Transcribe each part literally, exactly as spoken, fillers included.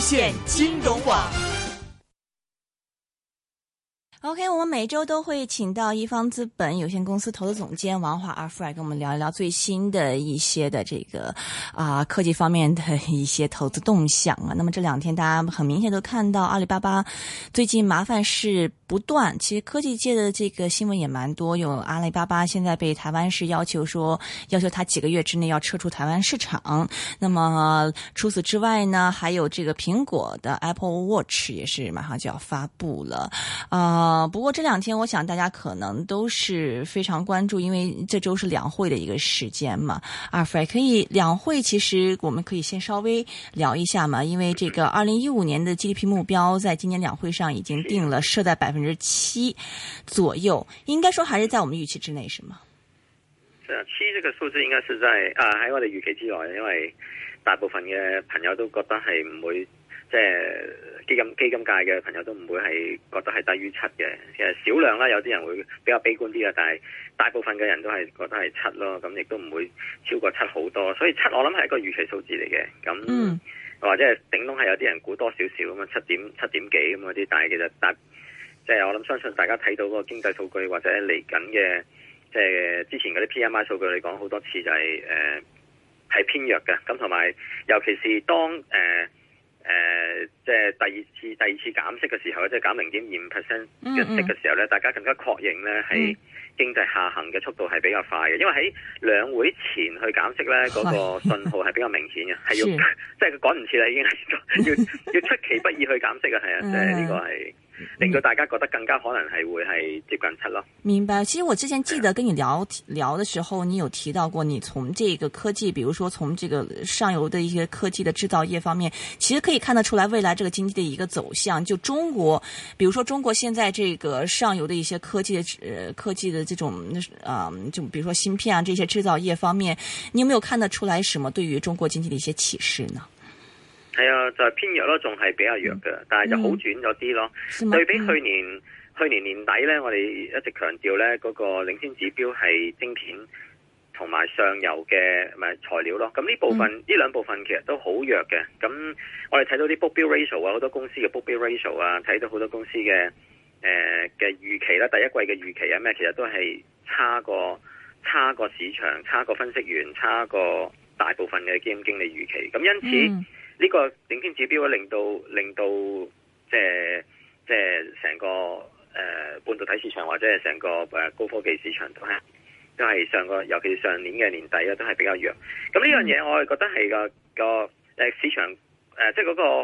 線金融網。 OK， 我們每周都會請到一方資本有限公司投資總監王華阿富來跟我們聊一聊最新的一些的這個啊、呃、科技方面的一些投資動向啊。那麼這兩天大家很明顯都看到阿里巴巴最近麻煩事不斷，其實科技界的這個新聞也蠻多，有阿里巴巴現在被台灣市要求說要求他幾個月之內要撤出台灣市場。那麼除此之外呢，還有這個蘋果的 Apple Watch 也是馬上就要發布了啊。呃，不過這兩天我想大家可能都是非常關注，因為這周是兩會的一個時間嘛。阿 Fred 可以兩會其實我們可以先稍微聊一下嘛，因為這個二零一五年的 G D P 目標在今年兩會上已經定了，設在百分之七左右，應該說還是在我們預期之內，是嗎？ 是啊，七這個數字應該是在啊喺我哋預期之內，因為大部分嘅朋友都覺得係唔會。即係基金基金界嘅朋友都唔會係覺得係低於七嘅，其實少量啦，有啲人會比較悲觀啲啦，但係大部分嘅人都係覺得係七咯，咁亦都唔會超過七好多，所以七我諗係一個預期數字嚟嘅，咁、嗯、或者係頂籠係有啲人估多少少咁啊，七點七點幾咁嗰啲，但係其實但即係我諗相信大家睇到嗰個經濟數據或者嚟緊嘅即係之前嗰啲 P M I 數據嚟講好多次就係誒係偏弱嘅，咁同埋尤其是當誒。呃誒、呃，即係第二次第二次減息嘅時候，即係減零點二五 percent 嘅息嘅時候咧，嗯嗯大家更加確認咧係經濟下行嘅速度係比較快嘅，因為喺兩會前去減息咧，嗰、那個信號係比較明顯嘅，係要即係佢趕唔切啦，已經係要要出其不意去減息啊，係啊，即係呢個係令到大家覺得更加可能係會係接近七咯。 明白。其實我之前記得跟你聊聊的時候，你有提到過，你從這個科技，比如說從這個上游的一些科技的製造業方面，其實可以看得出來未來這個經濟的一個走向。就中國，比如說中國現在這個上游的一些科技的呃科技的這種啊、呃，就比如說芯片啊這些製造業方面，你有沒有看得出來什麼對於中國經濟的一些啟示呢？ 係啊，就係、是、偏弱咯，仲係比較弱嘅、嗯，但係就好轉咗啲咯。對比去年、嗯、去年年底咧，我哋一直強調咧，嗰、那個領先指標係晶片同埋上游嘅咪材料咯。咁呢部分呢兩、嗯、部分其實都好弱嘅。咁我哋睇到啲 book bill ratio 啊，好多公司嘅 book bill ratio 啊，睇到好多公司嘅誒嘅預期啦，第一季嘅預期啊咩，其實都係差過差過市場，差過分析員，差過大部分嘅基金經理預期。咁因此。嗯呢、這個領先指標令到令到即係即係成個誒、呃、半導體市場或者係成個誒高科技市場都係都係上個尤其是上年嘅年底咧都係比較弱。咁呢樣嘢我係覺得係個個誒市場誒即係嗰個誒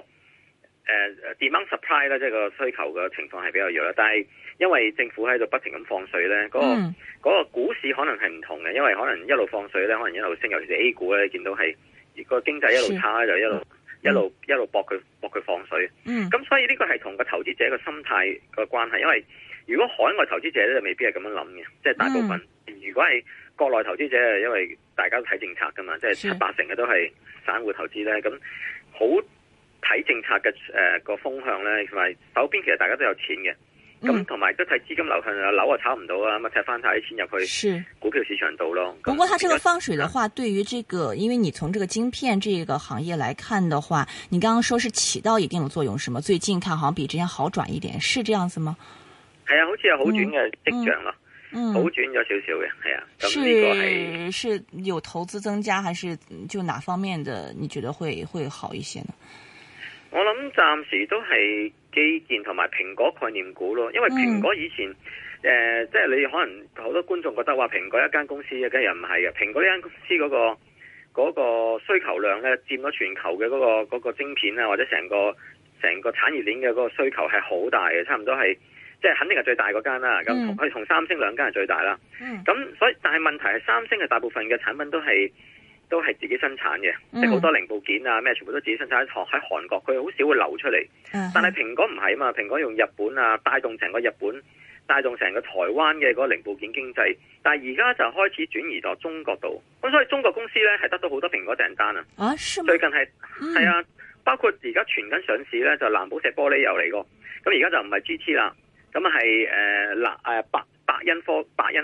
demand supply 咧，即係個需求嘅情況係比較弱啦。但係因為政府喺度不停咁放水咧，嗰、那個嗰、那個股市可能係唔同嘅，因為可能一路放水咧，可能一路升，尤其是 A 股咧，你見到係個經濟一路差就一路。一路一路搏佢搏佢放水，咁、嗯、所以呢個係同個投資者嘅心態個關係。因為如果海外投資者咧就未必係咁樣諗嘅，即係大部分。嗯、如果係國內投資者，因為大家都睇政策噶嘛，即係七八成嘅都係散戶投資咧，咁好睇政策嘅誒個風向咧，同埋手邊其實大家都有錢嘅。咁同埋都睇資金流向啊，樓啊炒唔到啊，咁啊踢翻晒啲錢入去股票市場度咯。 不過，它這個放水的話，對於這個，因為你從這個晶片這個行業來看的話，你剛剛說是起到一定的作用，是嗎？最近看好像比之前好轉一點，是這樣子嗎？ 係啊，好似有好轉嘅跡象咯，嗯嗯、好轉咗少少嘅，係啊。咁呢個係是有投資增加，還是就哪方面的？你覺得會會好一些呢？ 我諗暫時都係基建同埋蘋果概念股咯，因為蘋果以前誒、嗯呃，即係你可能好多觀眾覺得話蘋果一間公司嘅，梗係又唔係嘅。蘋果呢間公司嗰、嗰個嗰、嗰個需求量咧，佔咗全球嘅嗰、嗰個、嗰個晶片啊，或者成個成個產業鏈嘅嗰個需求係好大嘅，差唔多係即係肯定係最大嗰間啦。咁佢同三星兩間係最大啦。咁、嗯、所以但係問題係三星嘅大部分嘅產品都係。都係自己生產嘅，即係好多零部件啊咩，全部都自己生產喺喺韓國，佢好少會流出嚟。Uh-huh. 但係蘋果唔係啊嘛，蘋果用日本啊帶動成個日本，帶動成個台灣嘅嗰個零部件經濟。但係而家就開始轉移到中國度，咁所以中國公司咧係得到好多蘋果訂單啊。啊，最近係係、嗯、啊，包括而家傳緊上市咧就藍寶石玻璃又嚟過，咁而家就唔係 G T 啦，咁係誒嗱誒百百恩科百恩。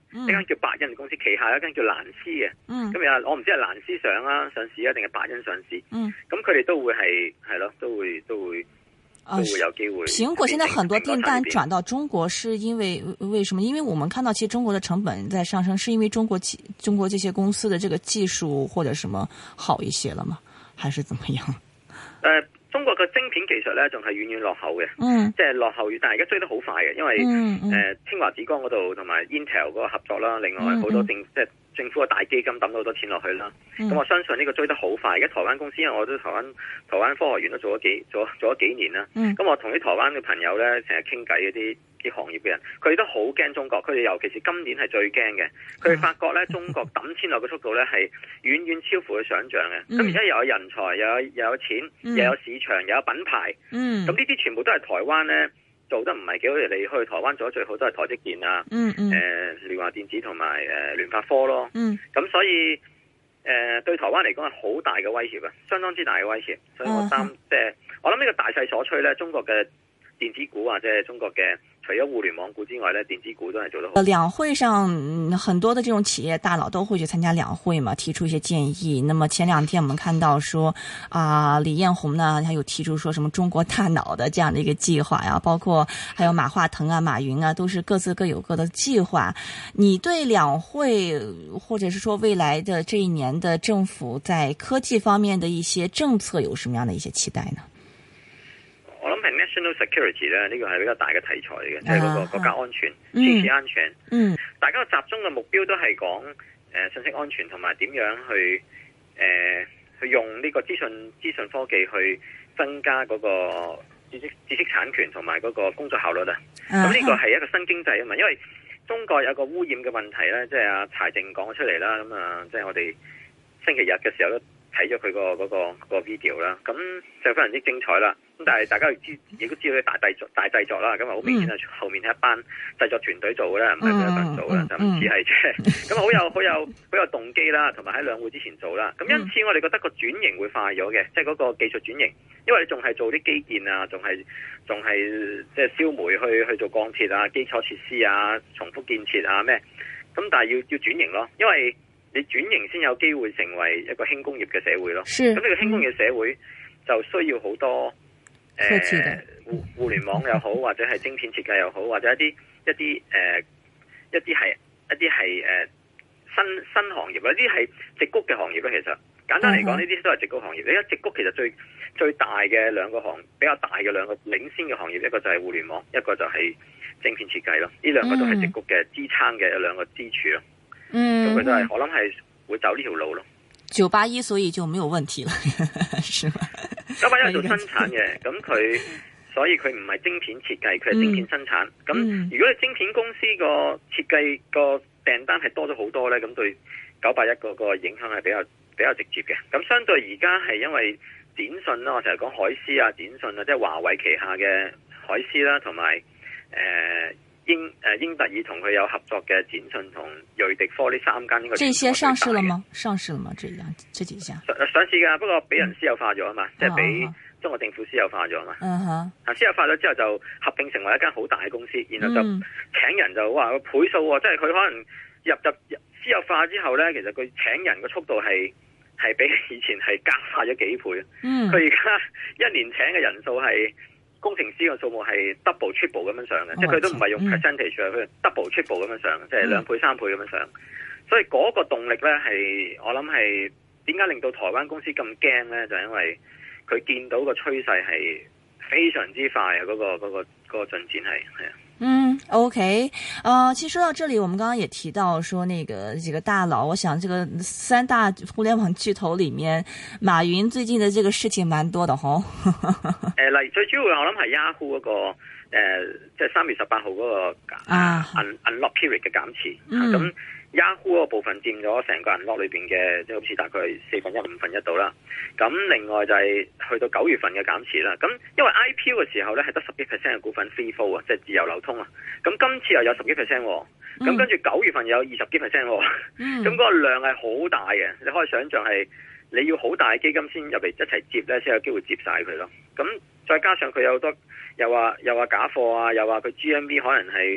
一間叫百欣公司，旗下有一間叫蘭斯嘅。 嗯。 咁有我唔知係蘭斯上啊上市啊，定係百欣上市。 嗯。 咁佢哋都會係係咯，都會都會都會有機會。 蘋果現在很多訂單轉到中國，是因為為什麼？因為我們看到其實中國的成本在上升，是因為中國中國這些公司的這個技術或者什麼好一些了嗎？還是怎麼樣？ 呃中國嘅晶片技術咧，仲係遠遠落後嘅， 嗯， 即係落後，但係而家追得好快嘅，因為誒、 嗯嗯呃、清華紫光嗰度同埋 Intel 嗰個合作啦，另外好多政、嗯嗯、即係政府嘅大基金抌咗好多錢落去啦，咁、嗯、我相信呢個追得好快。而家台灣公司，因為我都台灣台灣科學園都做咗幾做做咗幾年啦，咁、嗯、我同啲台灣嘅朋友咧成日傾偈嗰啲啲行業嘅人，佢哋都好驚中國，佢哋尤其是今年係最驚嘅，佢哋發覺咧中國抌錢落嘅速度咧係遠遠超乎佢想象嘅，咁而家又有人才，又有又有錢，嗯、又有市場，又有品牌，咁呢啲全部都係台灣咧做得唔係幾好，你去台灣做得最好都係台積電啊，誒、嗯嗯呃、聯華電子同埋誒聯發科咯，咁、嗯、所以誒、呃、對台灣嚟講係好大嘅威脅啊，相當之大嘅威脅，所以我擔即係我諗呢個大勢所趨咧，中國嘅電子股或者係中國嘅。除咗互聯網股之外咧，電子股都係做得好。 兩會上，很多的這種企業大佬都會去參加兩會嘛，提出一些建議。那麼前兩天我們看到說，啊、呃，李彥宏呢，他有提出說什麼中國大腦的這樣的一個計劃呀，包括還有馬化騰啊、馬雲啊，都是各自各有各的計劃。你對兩會，或者是說未來的這一年的政府在科技方面的一些政策，有什麼樣的一些期待呢？ 我諗係 national security 咧，呢個係比較大嘅題材嚟嘅，即係嗰個國家安全、 嗯、 信息安全。 嗯， 大家集中嘅目標都係講誒信息安全同埋點樣去誒、呃、去用呢個資訊資訊科技去增加嗰個知識知識產權同埋嗰個工作效率啊。咁呢個係一個新經濟啊嘛，因為中國有個污染嘅問題咧，即係阿柴靜講咗出嚟啦。咁啊，即係我哋星期日嘅時候都睇咗佢個嗰個嗰個 video 啦，咁就非常之精彩啦。咁但係大家亦知亦都知道大製作大製作啦，咁啊好明顯係後面係一班製作團隊做嘅啦，唔係佢一個人做嘅，就唔似係即係咁好有好有好有動機啦，同埋喺兩會之前做啦。咁因此我哋覺得個轉型會快咗嘅，即係嗰個技術轉型，因為你仲係做啲基建啊，仲係仲係即係燒煤去去做鋼鐵啊、基礎設施啊、重複建設啊咩，咁但係要要轉型咯，因為你轉型先有機會成為一個輕工業嘅社會咯。咁呢個輕工業社會就需要好多誒、呃、互互聯網又好，或者係晶片設計又好，或者一啲一啲誒、呃、一啲係一啲係誒新新行業啦，呢啲係矽谷嘅行業咧。其實簡單嚟講，呢啲都係矽谷行業。你而家矽谷其實最最大嘅兩個行比較大嘅兩個領先嘅行業，一個就係互聯網，一個就係晶片設計咯。呢兩個都係矽谷嘅支撐嘅兩個支柱咯。嗯，咁佢都係，我諗係會走呢條路咯。 九八一所以就沒有問題了，是嗎？ 九八一係做生產嘅，咁佢所以佢唔係晶片設計，佢係晶片生產。咁、嗯、如果你晶片公司個設計個訂單係多咗好多咧，咁對九八一嗰個影響係比較比較直接嘅。咁相對而家係因為展訊啦，我成日講海思啊、展訊啊，即係華為旗下嘅海思啦，同埋誒。呃英誒英特爾同佢有合作嘅展訊同瑞迪科呢三間呢個， 這些上市了嗎？上市了嗎？這樣這幾家上上市噶，不過俾人私有化咗啊嘛，嗯、即係俾中國政府私有化咗啊嘛。嗯哼，啊私有化咗之後就合併成為一間好大嘅公司，然後就請人就話個倍數喎，即係佢可能入入入私有化之後咧，其實佢請人嘅速度係係比以前係加快咗幾倍。嗯，佢而家一年請嘅人數係。工程師嘅數目係 double triple 咁樣上嘅，即係佢都唔係用 percentage 佢、嗯、double triple 咁樣上，即係兩倍三倍咁樣上。所以嗰個動力咧係我諗係點解令到台灣公司咁驚咧？就係、因為佢見到個趨勢係非常之快啊！嗰、嗰個嗰、嗰個嗰、嗰個進展係係啊。 嗯 ，OK，呃，其實說到這裡，我們剛剛也提到說，那個幾個大佬，我想這個三大互聯網巨頭裡面，馬雲最近的這個事情蠻多的，嗬。誒， 例如最主要我諗係 Yahoo 嗰個誒，即係三月十八號嗰個啊 unlock period 嘅減持，咁、嗯。Yahoo 嗰部分佔咗成個銀幕裏邊嘅，即係好似大概四分一、五分一度啦。咁另外就係去到九月份嘅減持啦。咁因為 I P O 嘅時候咧係得十幾 percent 嘅股份 free float 啊，即係自由流通啊。咁今次又有十幾 percent， 咁跟住九月份又有二十幾 percent， 咁嗰個量係好大嘅。你可以想象係你要好大嘅基金先入嚟一齊接咧，先有機會接晒佢咯。咁再加上佢有好多又話又話假貨啊，又話佢 G M V 可能係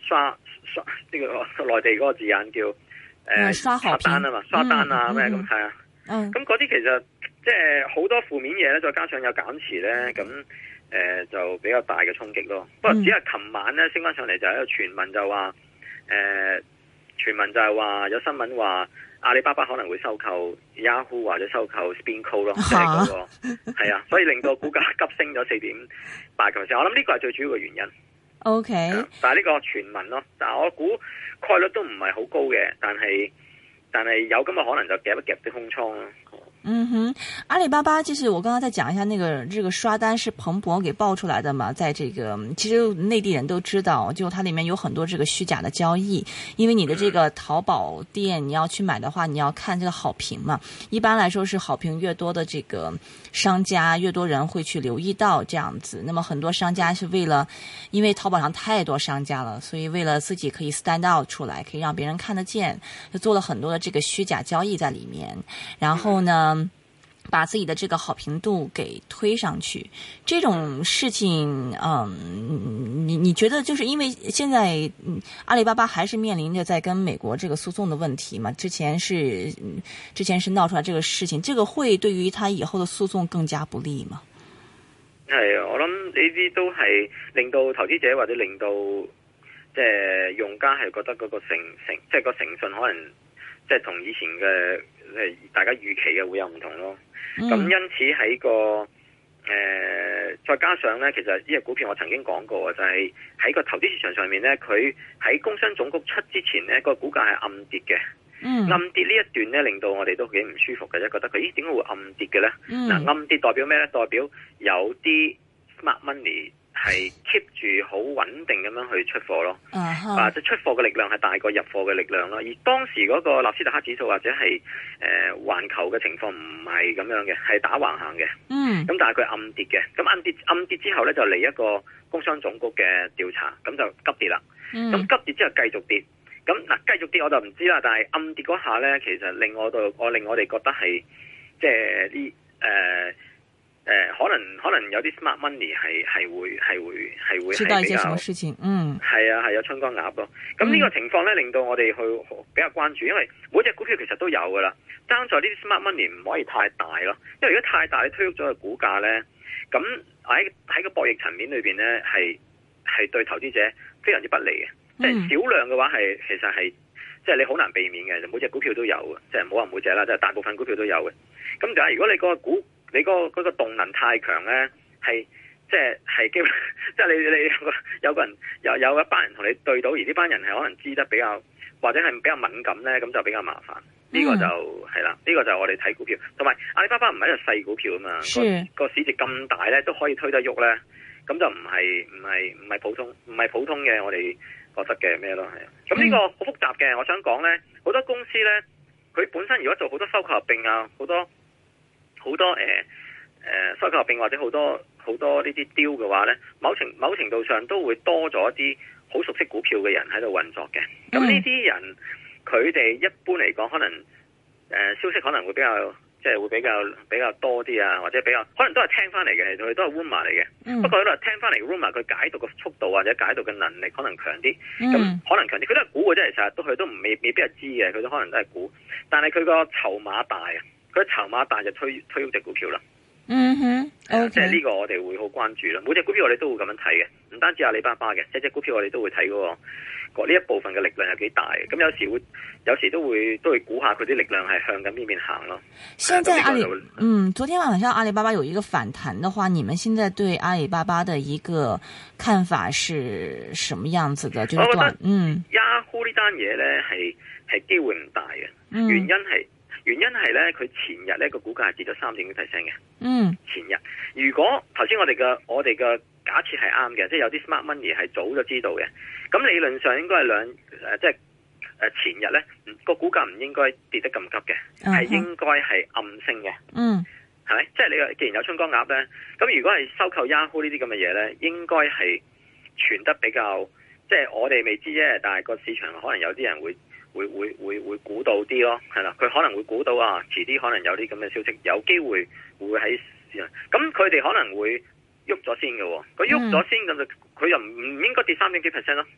刷刷呢個內地嗰個字眼叫誒、呃、 刷單啊嘛，刷單啊咩咁係啊。咁嗰啲其實即係好多負面嘢咧，再加上有減持咧，咁誒、呃、就比較大嘅衝擊咯。不過只係琴晚咧升翻上嚟就係一個傳聞，就話誒傳聞就係話有新聞話阿里巴巴可能會收購 Yahoo 或者收購 SpinCo 咯，即係嗰個係啊，所以令到股價急升咗四點八個 percent。我諗呢個係最主要嘅原因。 O K， 但係呢個傳聞咯，但係我估概率都唔係好高嘅，但係但係有咁嘅可能就夾一夾啲空倉咯。 嗯哼，阿里巴巴就是我剛剛再講一下，那個這個刷單是彭博給爆出來的嘛，在這個其實內地人都知道，就它裡面有很多這個虛假的交易，因為你的這個淘寶店你要去買的話，你要看這個好評嘛，一般來說是好評越多的這個商家，越多人會去留意到這樣子。那麼很多商家是為了，因為淘寶上太多商家了，所以為了自己可以 stand out 出來，可以讓別人看得見，就做了很多的這個虛假交易在裡面，然後呢把自己的這個好評度給推上去，這種事情，嗯，你你覺得就是因為現在，嗯，阿里巴巴還是面臨着在跟美國這個訴訟的問題嘛？之前是，之前是鬧出來這個事情，這個會對於他以後的訴訟更加不利嗎？ 係啊，我諗呢啲都係令到投資者或者令到即係用家係覺得嗰個誠誠，即係個誠信可能即係同以前嘅即係大家預期嘅會有唔同咯。咁、嗯、因此喺個誒、呃，再加上咧，其實呢隻股票我曾經講過，就係、是、喺個投資市場上面咧，佢喺工商總局出之前咧，個股價係暗跌嘅。嗯、暗跌呢一段咧，令到我哋都幾唔舒服嘅啫，覺得佢咦點解會暗跌嘅咧？嗱、嗯，暗跌代表咩咧？代表有啲 smart money 係 keep 住好穩定咁樣去出貨咯，啊，即係出貨嘅力量係大過入貨嘅力量咯。而當時嗰個納斯達克指數或者係誒環球嘅情況唔係咁樣嘅，係打橫行嘅。嗯，咁但係佢暗跌嘅，咁暗跌暗跌之後咧就嚟一個工商總局嘅調查，咁就急跌啦。咁、嗯、急跌之後繼續跌，咁嗱繼續跌我就唔知啦。但係暗跌嗰下咧，其實令我度我令我哋覺得係即係啲誒。呃誒、呃，可能可能有啲 smart money 係係會係會係會係比較知道一些什麼事情，嗯，係啊係有春江鴨咯。咁呢個情況咧，令到我哋去比較關注，因為每隻股票其實都有噶啦，爭在呢啲 smart money 唔可以太大咯。因為如果太大，你推喐咗個股價咧，咁喺喺個博弈層面裏邊咧，係係對投資者非常之不利嘅。即係少量嘅話係其實係即係你好難避免嘅，每隻股票都有嘅，即係唔好話每隻啦，即係大部分股票都有嘅。咁但係如果你個股你嗰個嗰個動能太強咧，係即係係基本，即係你你有個有個人有有一班人同你對到，而呢班人係可能知得比較或者係比較敏感咧，咁就比較麻煩。呢、嗯、個就係啦，呢、呢個就係我哋睇股票，同埋阿里巴巴唔係一隻細股票啊嘛，個個市值咁大咧都可以推得喐咧，咁就唔係唔係唔係普通唔係普通嘅我哋覺得嘅咩咯，係啊。咁呢個好複雜嘅，我想講咧，好多公司咧，佢本身如果做好多收購合併啊，好多。好多誒誒、呃、收購合併或者好多好多呢啲 deal 嘅話咧，某程某程度上都會多咗一啲好熟悉股票嘅人喺度運作嘅。咁呢啲人佢哋一般嚟講，可能誒、呃、消息可能會比較即係會比較比較多啲啊，或者比較可能都係聽翻嚟嘅，佢都係 rumor 嚟嘅。嗯、不過喺度聽翻嚟 rumor，佢解讀嘅速度或者解讀嘅能力可能強啲。咁、嗯、可能強啲，佢都係估嘅啫。其實都佢都唔未未必係知嘅，佢都可能都係估。但係佢個籌碼大啊！佢籌碼大就推推喐隻股票啦。嗯哼，即係呢個我哋會好關注啦。每隻股票我哋都會咁樣睇嘅，唔單止阿里巴巴嘅，隻隻股票我哋都會睇嗰個呢一部分嘅力量有幾大嘅。咁有時會有時都會都會估下佢啲力量係向緊邊邊行咯。現在阿里嗯，昨天晚上阿里巴巴有一個反彈的話，你們現在對阿里巴巴的一個看法是什麼樣子的？就是、我覺得嗯 Yahoo 呢單嘢咧係係機會唔大嘅、嗯，原因係。原因係咧，佢前日咧個股價係跌咗三點幾 percent 嘅。嗯，前日如果頭先我哋嘅我哋嘅假設係啱嘅，即係有啲 smart money 係早咗知道嘅，咁理論上應該係兩誒，即係誒前日咧個股價唔應該跌得咁急嘅，係、uh-huh. 應該係暗升嘅。嗯，係咪？即係你既然有春江鴨咧，咁如果係收購 Yahoo 呢啲咁嘅嘢咧，應該係傳得比較，即係我哋未知啫，但係個市場可能有啲人會。會會會會估到啲咯，係啦，佢可能會估到啊，遲啲可能有啲咁嘅消息，有機會會喺市場，咁佢哋可能會喐咗先嘅，佢喐咗先咁就佢又唔唔應該跌三點幾 percent 咯，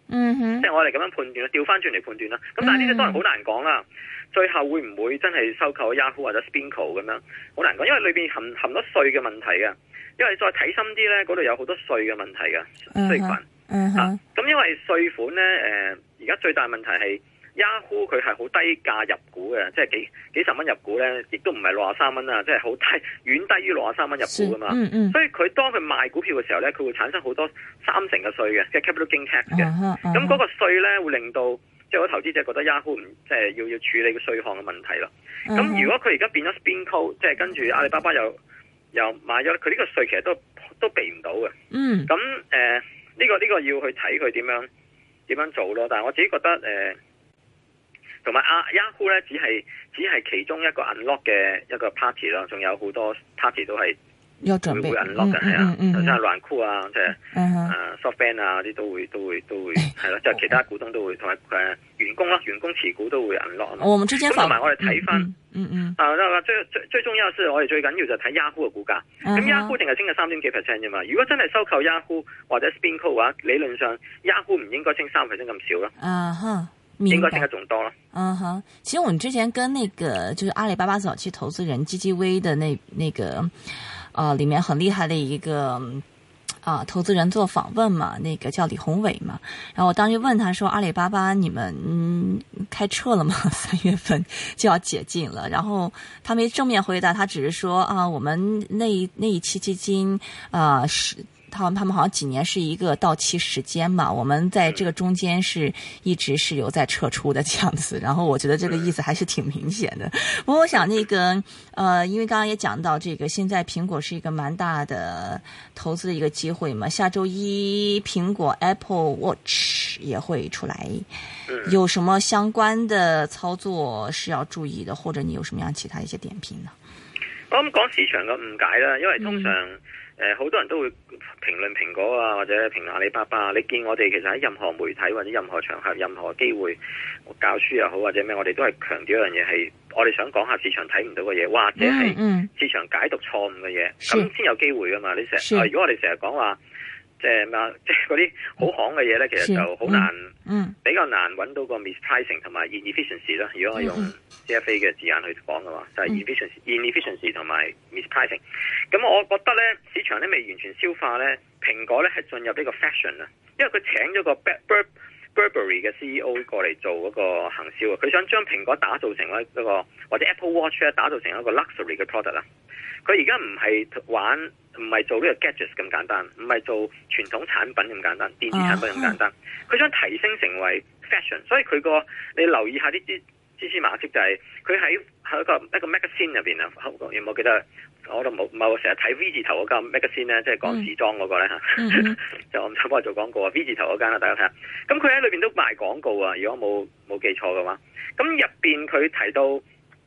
嗯哼， 即係我哋咁樣判斷啦，調翻轉嚟判斷啦。咁但係呢啲當然好難講啦。最後會唔會真係收購 Yahoo 或者 Spinco 咁樣？好難講，因為裏邊含含咗稅嘅問題嘅。因為再睇深啲咧，嗰度有好多稅嘅問題嘅稅款。 嗯哼。 咁、啊、因為稅款咧，誒、呃，而家最大問題係 Yahoo 佢係好低價入股嘅，即係幾幾十蚊入股咧，亦都唔係六十三蚊啊，即係好低，遠低於六十三蚊入股噶嘛。嗯嗯。所以佢當佢賣股票嘅時候咧，佢會產生好多三成嘅稅嘅，即係 capital gain tax 嘅。咁嗰、uh huh, uh huh. 個稅咧會令到即係我投資者覺得 Yahoo 唔即係要要處理個稅項嘅問題咯。咁、uh huh. 如果佢而家變咗 Spinco，即係跟住阿里巴巴又又買咗，佢呢個稅其實都都避唔到嘅。嗯。咁誒呢個呢、呢個要去睇佢點樣點樣做咯。但係我自己覺得誒，同埋阿 Yahoo 咧只係只係其中一個 unlock 嘅一個 party 咯，仲有好多 party 都係。會會 unlock 嘅係啊，頭先係蘭酷啊，即係誒 SoftBank 啊啲都會都會都會係咯，即係其他股東都會同埋誒員工啦，員工持股都會 unlock 啊嘛。咁同埋我哋睇翻，嗯嗯啊最最最重要嘅係我哋最緊要就睇 Yahoo 嘅股價。咁 Yahoo 淨係升咗三點幾 percent 啫嘛。如果真係收購 Yahoo 或者 Spinco 嘅話，理論上 Yahoo 唔應該升三 percent 咁少咯。啊哈。應該升得仲多了。 嗯哼，其實我們之前跟那個就是阿里巴巴早期投資人 G G V 的那那個，呃，裏面很厲害的一個啊、呃、投資人做訪問嘛，那個叫李宏偉嘛。然後我當時問他說：“阿里巴巴你們嗯開撤了嗎？三月份就要解禁了。”然後他沒正面回答，他只是說啊，我們那那一期基金啊是。他他們好像幾年是一個到期時間嘛，我們在這個中間是一直是有在撤出的這樣子，然後我覺得這個意思還是挺明顯的。不過我想那個，呃，因為剛剛也講到這個，現在蘋果是一個蠻大的投資的一個機會嘛，下周一蘋果 Apple Watch 也會出來，有什麼相關的操作是要注意的，或者你有什麼樣其他一些點評呢？ 我諗講市場嘅誤解啦，因為通常、嗯。誒好、呃、多人都會評論蘋果啊，或者評論阿里巴巴。你見我哋其實喺任何媒體或者任何場合、任何機會，教書又好或者咩，我哋都係強調一樣嘢，係我哋想講下市場睇唔到嘅嘢，或者係市場解讀錯誤嘅嘢，咁先、嗯、有機會噶嘛。你成日、呃、如果我哋成日講話，即係咩即係嗰啲好行嘅嘢咧，其實就好難，嗯嗯、比較難揾到個 mispricing 同埋 inefficiency 啦。如果我用 C F A 嘅字眼去講嘅話，就係、是、inefficiency、嗯、inefficiency 同埋 mispricing。咁我覺得咧，市場咧未完全消化咧，蘋果咧係進入呢個 fashion 啊，因為佢請咗個 Burberry 嘅 C E O 過嚟做嗰個行銷啊，佢想將蘋果打造成一個或者 Apple Watch 咧打造成一個 luxury 嘅 product 啦。佢而家唔係玩，唔係做呢個 gadgets 咁簡單，唔係做傳統產品咁簡單，電子產品咁簡單。佢、uh huh. 想提升成為 fashion，所以佢個你留意下啲啲蛛絲馬跡，就係佢喺喺一個一個 magazine 入邊啊，有冇記得？我都冇冇成日睇 V 字頭嗰間 magazine 咧，即係講時裝嗰個咧嚇，mm hmm. 就我唔想幫佢做廣告啊。V 字頭嗰間啦，大家睇下。咁佢喺裏邊都賣廣告啊，如果冇冇記錯嘅話。咁入邊佢提到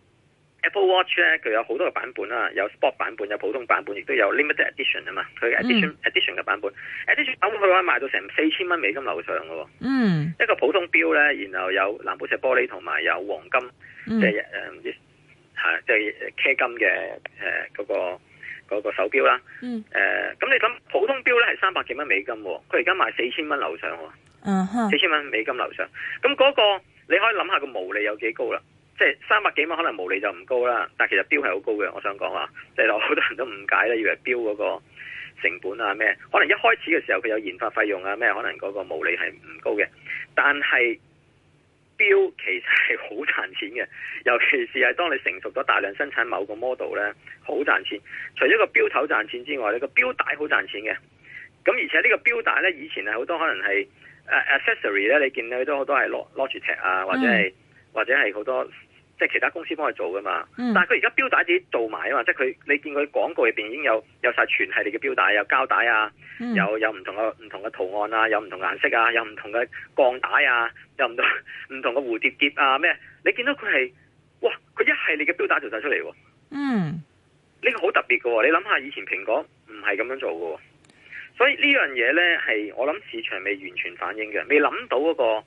Apple Watch 咧，佢有好多個版本啦，有 Sport 版本，有普通版本，亦都有 Limited Edition 啊嘛。佢 Edition、mm. Edition 嘅版本 ，Edition 版本佢可以賣到成四千蚊美金樓上嘅喎。嗯，mm. 一個普通錶咧，然後有藍寶石玻璃同埋有黃金，即係誒唔知係即係 K 金嘅誒嗰個嗰個手錶啦。嗯，誒咁你諗普通錶咧係三百幾蚊美金，佢而家賣四千蚊樓上喎。嗯哼，四千蚊美金樓上，咁嗰個你可以諗下個毛利有幾高啦。即係三百幾蚊，可能毛利就唔高啦，但係其實標係好高嘅。我想講話，即係好多人都誤解咧，以為標嗰個成本啊咩，可能一開始嘅時候佢有研發費用啊咩，可能嗰個毛利係唔高嘅。但係標其實係好賺錢嘅，尤其是係當你成熟咗大量生產某個 model 咧，好賺錢。除咗個標頭賺錢之外，呢個標帶好賺錢嘅。咁而且呢個標帶咧，以前係好多可能係誒、uh, accessory 咧，你見到都好多係 Logitech 啊，或者係。嗯或者係好多即係其他公司幫佢做噶嘛，嗯、但係佢而家錶帶自己做埋啊嘛，即係佢你見佢廣告入邊已經有有晒全系列嘅錶帶，有膠帶啊，嗯、有有唔同嘅唔同嘅圖案啊，有唔同顏色啊，有唔同嘅鋼帶啊，有唔同唔同嘅蝴蝶結啊咩？你見到佢係哇，佢一系列嘅錶帶做晒出嚟喎。嗯，呢個好特別嘅喎，你諗下以前蘋果唔係咁樣做嘅喎，所以呢樣嘢咧係我諗市場未完全反映嘅，未諗到嗰個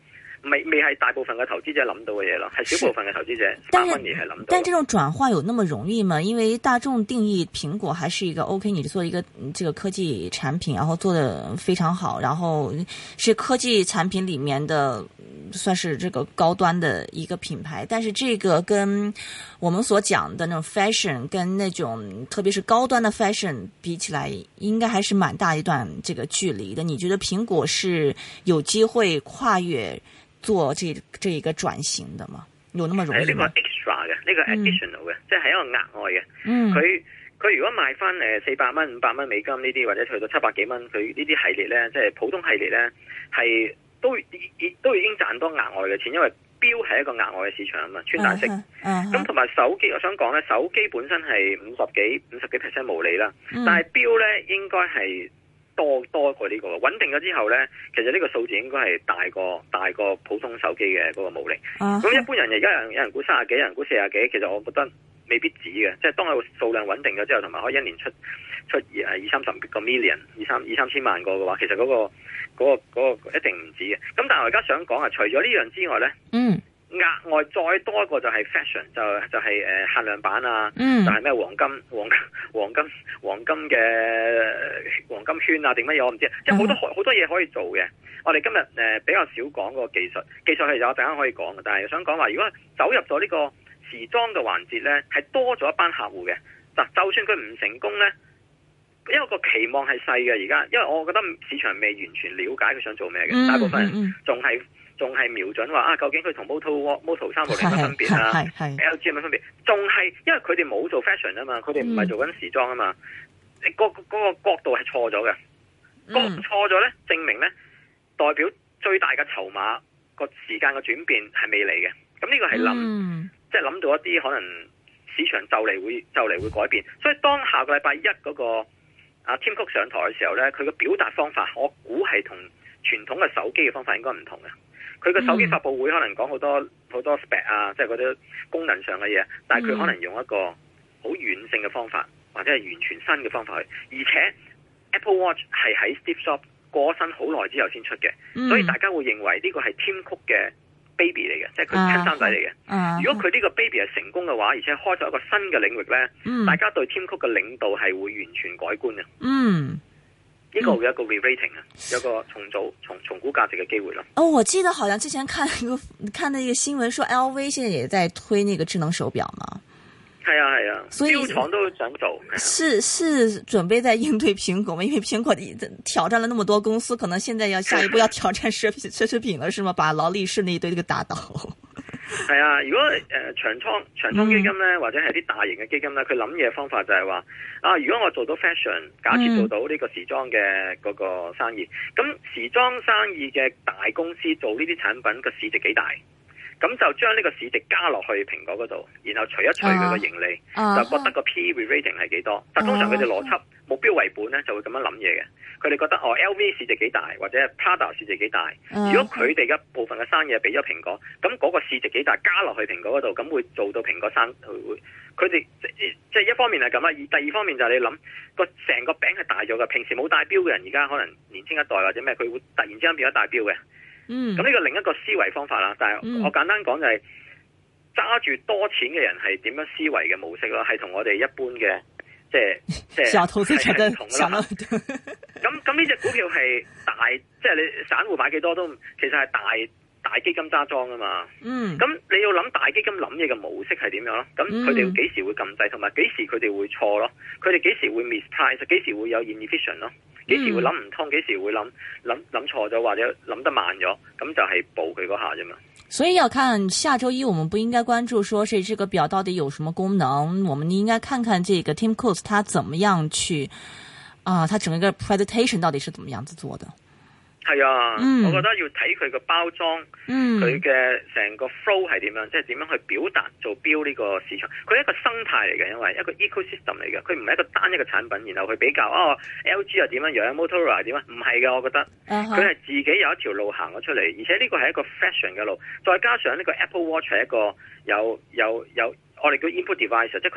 未未係大部分嘅投資者諗到嘅嘢咯，係少部分嘅投資者但慢慢而係諗到。 但這種轉化有那麼容易嗎？因為大眾定義蘋果還是一個 OK， 你做一個這個科技產品，然後做得非常好，然後是科技產品裡面的算是這個高端的一個品牌。但是這個跟我們所講的那種 fashion，跟那種特別是高端的 fashion 比起來，應該還是蠻大一段這個距離的。你覺得蘋果是有機會跨越做這這一個轉型的嗎？有那麼容易嗎？ 呢個 extra 嘅，呢個 additional 嘅，即係係一個額外嘅。 嗯， 佢佢如果賣翻誒四百蚊、五百蚊美金呢啲，或者去到七百幾蚊，佢呢啲系列咧，即係普通系列咧，係都已都已經賺多額外嘅錢，因為錶係一個額外嘅市場啊嘛，穿戴式。咁同埋手機，我想講咧，手機本身係五十幾五十幾 percent 毛利啦，嗯、但係錶咧應該係。多多過呢個穩定咗之後呢，其實呢個數字應該係大過大過普通手機嘅嗰個毛利。咁、uh-huh. 一般人而家有人有人估三十幾，有人估四十幾，其實我覺得未必止嘅。即係當佢數量穩定咗之後，同埋可以一年出出二二三十個 million 二三二三千萬個嘅話，其實嗰、嗰個嗰、嗰個嗰個、一定唔止嘅。咁但係我而家想講啊，除咗呢樣之外呢。嗯。額外再多一個就係 fashion，就就係、是、誒限量版啊，嗯、就係咩黃金黃金黃金黃金嘅黃金圈啊定乜嘢我唔知，即係好多好、嗯、多嘢可以做嘅。我哋今日誒、呃、比較少講個技術，技術係有陣間可以講嘅，但係想講話如果走入咗呢個時裝嘅環節咧，係多咗一班客戶嘅。嗱，就算佢唔成功咧，因為個期望係細嘅而家，因為我覺得市場未完全了解佢想做咩嘅、嗯，大部分人仲係。仲係瞄準話啊，究竟佢同 Moto Moto 三六零有乜分別啊 ？L G 有乜分別？仲係因為佢哋冇做 fashion 啊嘛，佢哋唔係做緊時裝啊嘛，嗯、嗰個嗰、嗰個角度係錯咗嘅，角度錯咗咧，證明咧代表最大嘅籌碼個時間嘅轉變係未嚟嘅。咁呢個係諗、嗯，即係諗到一啲可能市場就嚟會就嚟會改變。所以當下個禮拜一嗰個啊 Tim Cook 上台嘅時候咧，佢嘅表達方法，我估係同傳統嘅手機嘅方法應該唔同嘅。佢個手機發佈會可能講好多好多 spec 啊，即係嗰啲功能上嘅嘢，但係佢可能用一個好軟性嘅方法，或者係完全新嘅方法去。而且 Apple Watch 係喺 Steve Jobs 過身好耐之後先出嘅、嗯，所以大家會認為呢個係 Tim Cook 嘅 baby 嚟嘅，即係佢親生仔嚟嘅。如果佢呢個 baby 係成功嘅話，而且開咗一個新嘅領域呢、嗯，大家對 Tim Cook 嘅領導係會完全改觀嘅。嗯。呢、這個會有一個 re-rating 啊、嗯，有個重組、重重估價值嘅機會咯。 哦，我記得好像之前看一個看到一個新聞，說 L V 現在也在推那個智能手錶嘛。 係啊係啊，所以錶廠都想做。 是是準備在應對蘋果嗎？因為蘋果挑戰了那麼多公司，可能現在要下一步要挑戰奢侈奢侈品了，是嗎？把勞力士那一堆這個打倒。 係啊，如果誒、呃、長倉長倉基金咧、嗯，或者係啲大型嘅基金咧，佢諗嘢方法就係話啊，如果我做到 fashion， 假設做到呢個時裝嘅嗰個生意，咁、嗯、時裝生意嘅大公司做呢啲產品個市值幾大，咁就將呢個市值加落去蘋果嗰度，然後除一除佢個盈利、啊，就覺得個 P re-rating 係幾多。但通常佢哋邏輯目標為本咧，就會咁樣諗嘢嘅。佢哋覺得哦 ，L V 市值幾大，或者 Prada 市值幾大。如果佢哋嘅部分嘅生意俾咗蘋果，咁嗰個市值幾大加落去蘋果嗰度，咁會做到蘋果生會。佢哋即係一方面係咁啦，而第二方面就係你諗個成個餅係大咗嘅。平時冇戴錶嘅人，而家可能年輕一代或者咩，佢會突然之間變咗戴錶嘅。嗯，咁呢個另一個思維方法啦。但係我簡單講就係揸住多錢嘅人係點樣思維嘅模式咯，係同我哋一般嘅。即係即係小投資者嘅想法。咁咁呢隻股票係大，即係你散戶買幾多都，其實係大大基金揸莊啊嘛。嗯。咁你要諗大基金諗嘢嘅模式係點樣咯？咁佢哋幾時會撳掣，同埋幾時佢哋會錯咯？佢哋幾時會 misprice， 幾時會有 inefficient 咯？幾時會諗唔通？幾時會諗諗諗錯咗，或者諗得慢咗？咁就係補佢嗰下啫嘛。 所以要看下周一，我們不應該關注說是這個表到底有什麼功能，我們應該看看這個 Tim Cook 他怎麼樣去啊、呃，他整個 presentation 到底是怎麼樣子做的。 係啊、嗯，我覺得要睇佢個包裝，佢嘅成個 flow 係點樣，即係點樣去表達做錶呢個市場。佢係一個生態嚟嘅，因為一個 ecosystem 嚟嘅，佢唔係一個單一嘅產品，然後去比較哦 L G 又點樣樣 ，Motorola 點樣，唔係嘅，我覺得佢係自己有一條路行咗出嚟，而且呢個係一個 fashion 嘅路，再加上呢個 Apple Watch 係一個有有有我哋叫 input device，即係佢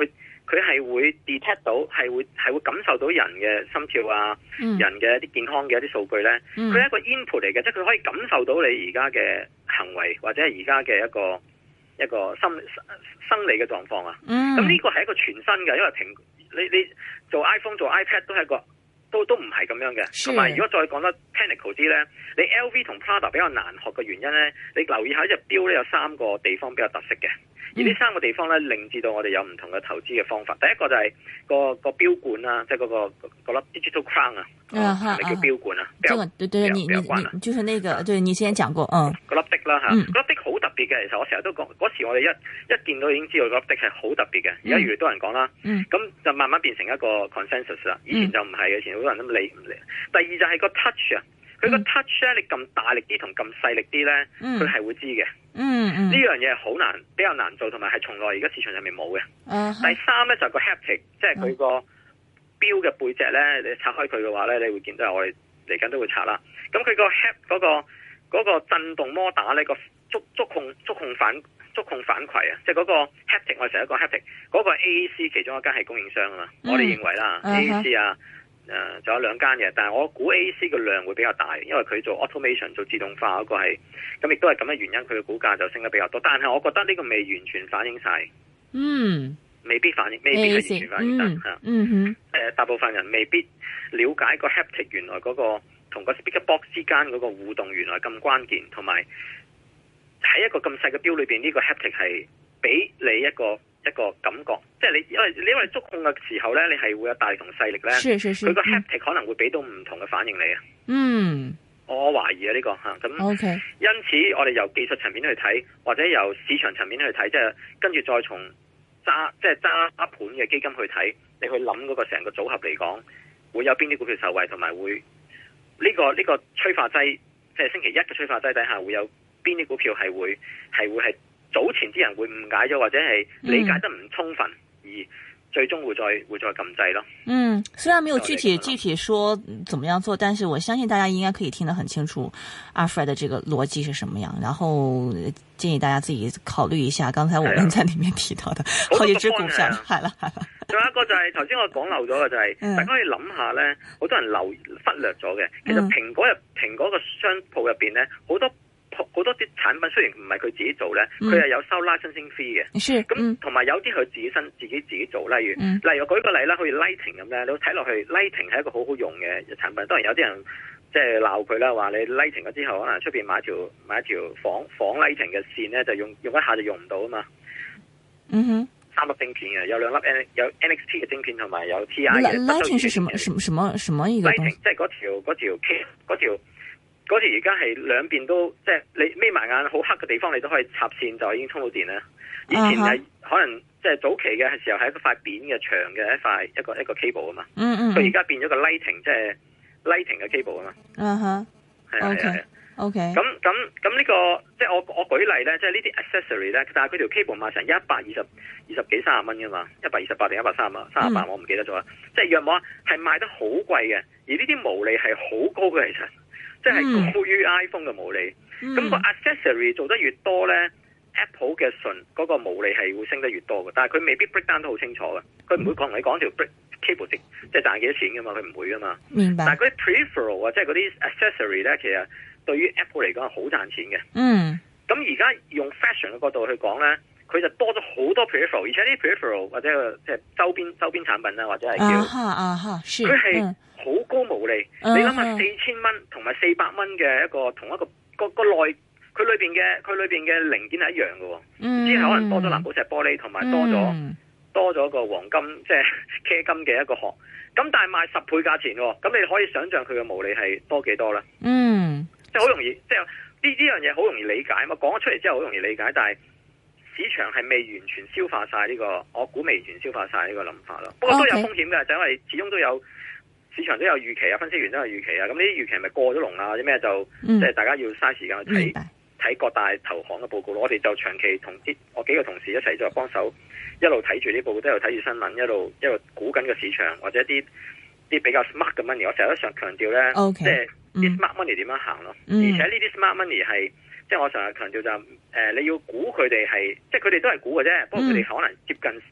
佢係會 detect 到，係會係會感受到人嘅心跳啊，嗯、人嘅一啲健康嘅一啲數據咧，佢係、嗯、一個 input 嚟嘅，即係佢可以感受到你而家嘅行為或者係而家嘅一個一個心生理嘅狀況啊。咁呢、嗯、個係一個全新嘅，因為蘋你你做 iPhone 做 iPad 都係一個。都都唔係咁樣嘅，同埋如果再講得 technical 啲咧，你 L V 同 Prada 比較難學嘅原因咧，你留意下呢隻錶咧有三個地方比較特色嘅，而呢三個地方咧令至到我哋有唔同嘅投資嘅方法。第一個就係個個錶冠啦，即係嗰個嗰粒 digital crown 啊，係咪叫錶冠啊？ 這個對對，你你你就是那個，對你之前講過，嗯， 嗰粒的啦嚇，嗰粒的好特別嘅。其實我成日都講，嗰時我哋一一見到已經知道嗰粒的係好特別嘅。而家越嚟越多人講啦，咁就慢慢變成一個 consensus 啦。以前就唔係嘅，以前好多人都理唔理。第二就係個 touch 啊，佢個 touch 咧，你撳大力啲同撳細力啲咧，佢係會知嘅。嗯嗯，呢樣嘢係好難，比較難做，同埋係從來而家市場上面冇嘅。第三咧就係個 haptic，即係佢個錶嘅背脊咧，你拆開佢嘅話咧，你會見到我哋嚟緊都會拆啦。咁佢個 hap 嗰個嗰個震動摩打咧，個觸觸控觸控反觸控反饋啊，即係嗰個 haptic，我哋成日講 haptic，嗰個 A A C 其中一間係供應商啊嘛，我哋認為啦 A A C 啊。誒，仲、呃、有兩間嘅，但係我估 A A C 嘅量會比較大，因為佢做 automation 做自動化嗰個係，咁亦都係咁嘅原因，佢嘅股價就升得比較多。但係我覺得呢個未完全反映晒，嗯，未必反映，未必係完全反映晒吓，嗯哼，誒、呃，大部分人未必了解個 haptic 原來嗰、那個同個 speaker box 之間嗰個互動原來咁關鍵，同埋喺一個咁細嘅錶裏邊，呢、這個 haptic 係俾你一個。一個感覺，即係你因為你因為觸控嘅時候咧，你係會有大力同細力咧，佢個 haptic 可能會俾到唔同嘅反應你啊。嗯，我懷疑啊呢、這個吓咁。啊、OK，因此我哋由技術層面去睇，或者由市場層面去睇，即係跟住再從揸即係揸盤嘅基金去睇，你去諗嗰個成個組合嚟講，會有邊啲股票受惠，同埋會呢、這個呢、這個催化劑，即係星期一嘅催化劑底下會有邊啲股票係會係會係。早前啲人會誤解咗，或者係理解得唔充分，嗯、而最終會再會再撳掣咯。嗯， 雖然沒有具體具體說怎麼樣做，但是我相信大家應該可以聽得很清楚阿 Fred 的這個邏輯是什麼樣，然後建議大家自己考慮一下。剛才我們在裏面提到的好幾隻股票，係啦係啦。 仲有一個就係頭先我講漏咗嘅就係、是，嗯、大家可以諗下咧，好多人漏忽略咗嘅。其實蘋果入蘋果個商鋪入邊咧，好多。好多啲產品雖然唔係佢自己做咧，佢係、嗯、有收 licensing fee 嘅。咁同埋有啲佢自己身自己自己做，例如、嗯、例如我舉個例啦，好似 Lighting 咁咧，你睇落去 Lighting 係一個好好用嘅產品。當然有啲人即係鬧佢啦，話你 Lighting 咗之後，可能出邊買條買一條仿仿 Lighting 嘅線咧，就用用一下就用唔到啊嘛。嗯哼，三粒晶片嘅，有兩粒 N 有 N X T 嘅晶片，同埋有 T I 嘅。 Lighting 是什麼什麼什麼什麼一個東西？ 即係嗰條嗰條 K 嗰條。嗰條而家係兩邊都即係你眯埋眼好黑嘅地方，你都可以插線就已經充到電啦。以前係可能即係早期嘅時候係一塊扁嘅長嘅一塊一個一個 cable 啊嘛。嗯嗯。佢而家變咗個 lighting 即係 lighting 嘅 cable 啊嘛。嗯哼。係啊係啊。O K。咁咁咁呢個即係我我舉例咧，即係呢啲 accessory 咧，但係佢條 cable 賣成一百二十二十幾三十蚊噶嘛，一百二十八定一百三十啊，三十八我唔記得咗啦。即係約莫係賣得好貴嘅，而呢啲毛利係好高嘅其實。即係高於 iPhone 嘅毛利，咁、嗯、個 accessory 做得越多咧、嗯、，Apple 嘅純嗰個毛利係會升得越多嘅。但係佢未必 break down 得好清楚嘅，佢唔會講同你講條 break cable 值即係賺幾多錢噶嘛，佢唔會噶嘛。明白。但係嗰啲 peripheral 啊，即係嗰啲 accessory 咧，其實對於 Apple 嚟講係好賺錢嘅。嗯。咁而家用 fashion 嘅角度去講咧，佢就多咗好多 peripheral， 而且啲 peripheral 或者即係周邊周邊產品啦，或者係叫啊哈啊哈，佢係好高毛利。Uh huh. 你諗下四千蚊同埋四百蚊嘅一個同一個個個內，佢裏邊嘅佢裏邊嘅零件係一樣嘅，只係、uh huh. 可能多咗藍寶石玻璃，同埋多咗、uh huh. 多咗個黃金即係茄金嘅一個殼。咁但係賣十倍價錢，咁你可以想象佢嘅毛利係多幾多啦？嗯、uh，huh. 即係好容易，即係呢呢樣嘢好容易理解嘛。講咗出嚟之後好容易理解，但係市場係未完全消化晒呢、這個，我估未完全消化晒呢個諗法咯。不過都有風險嘅，就因為始終都有市場都有預期啊，分析員都有預期啊。咁呢啲預期咪過咗龍啊？或者咩就即係、嗯、大家要嘥時間去睇睇各大投行嘅報告咯。我哋就長期同啲我幾個同事一齊就幫手，一路睇住啲報告，都有睇住新聞，一路一路估緊個市場或者啲啲比較 smart 嘅 money。我成日都想強調咧，okay, 即係啲 smart money 點樣行咯。嗯、而且呢啲 smart money 係。即係我成日強調就誒、是呃，你要估佢哋係，即係佢哋都係估嘅啫。不過佢哋可能接近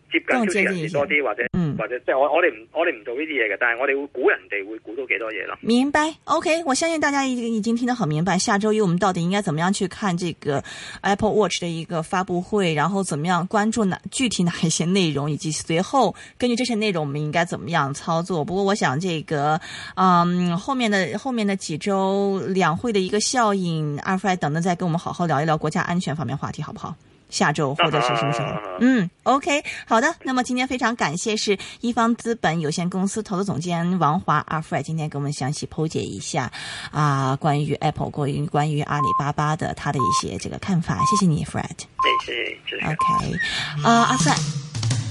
接近超市人士多啲，或者嗯，或者即係我我哋唔我哋唔做呢啲嘢嘅，但係我哋會估人哋會估到幾多嘢咯。 明白 ，OK， 我相信大家已已經聽得很明白。下周一我們到底應該怎麼樣去看這個 Apple Watch 的一個發布會，然後怎麼樣關注哪具體哪一些內容，以及隨後根據這些內容我們應該怎麼樣操作。不過我想這個嗯後面的後面的幾周兩會的一個效應，阿 Fred 等等再跟我們好好聊一聊國家安全方面話題，好不好？下周或者是什麼時候？嗯 ，OK， 好的。那麼今天非常感謝是一方資本有限公司投資總監王華阿 Fred 今天給我們詳細剖解一下啊、呃，關於 Apple 關於關於阿里巴巴的他的一些這個看法。謝謝你 ，Fred。 謝謝，謝謝。 OK，啊、呃，阿 Fred。